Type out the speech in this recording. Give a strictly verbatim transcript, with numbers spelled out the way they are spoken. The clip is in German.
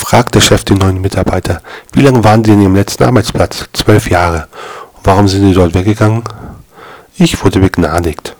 fragt der Chef den neuen Mitarbeiter: Wie lange waren Sie in Ihrem letzten Arbeitsplatz? Zwölf Jahre. Und warum sind Sie dort weggegangen? Ich wurde begnadigt.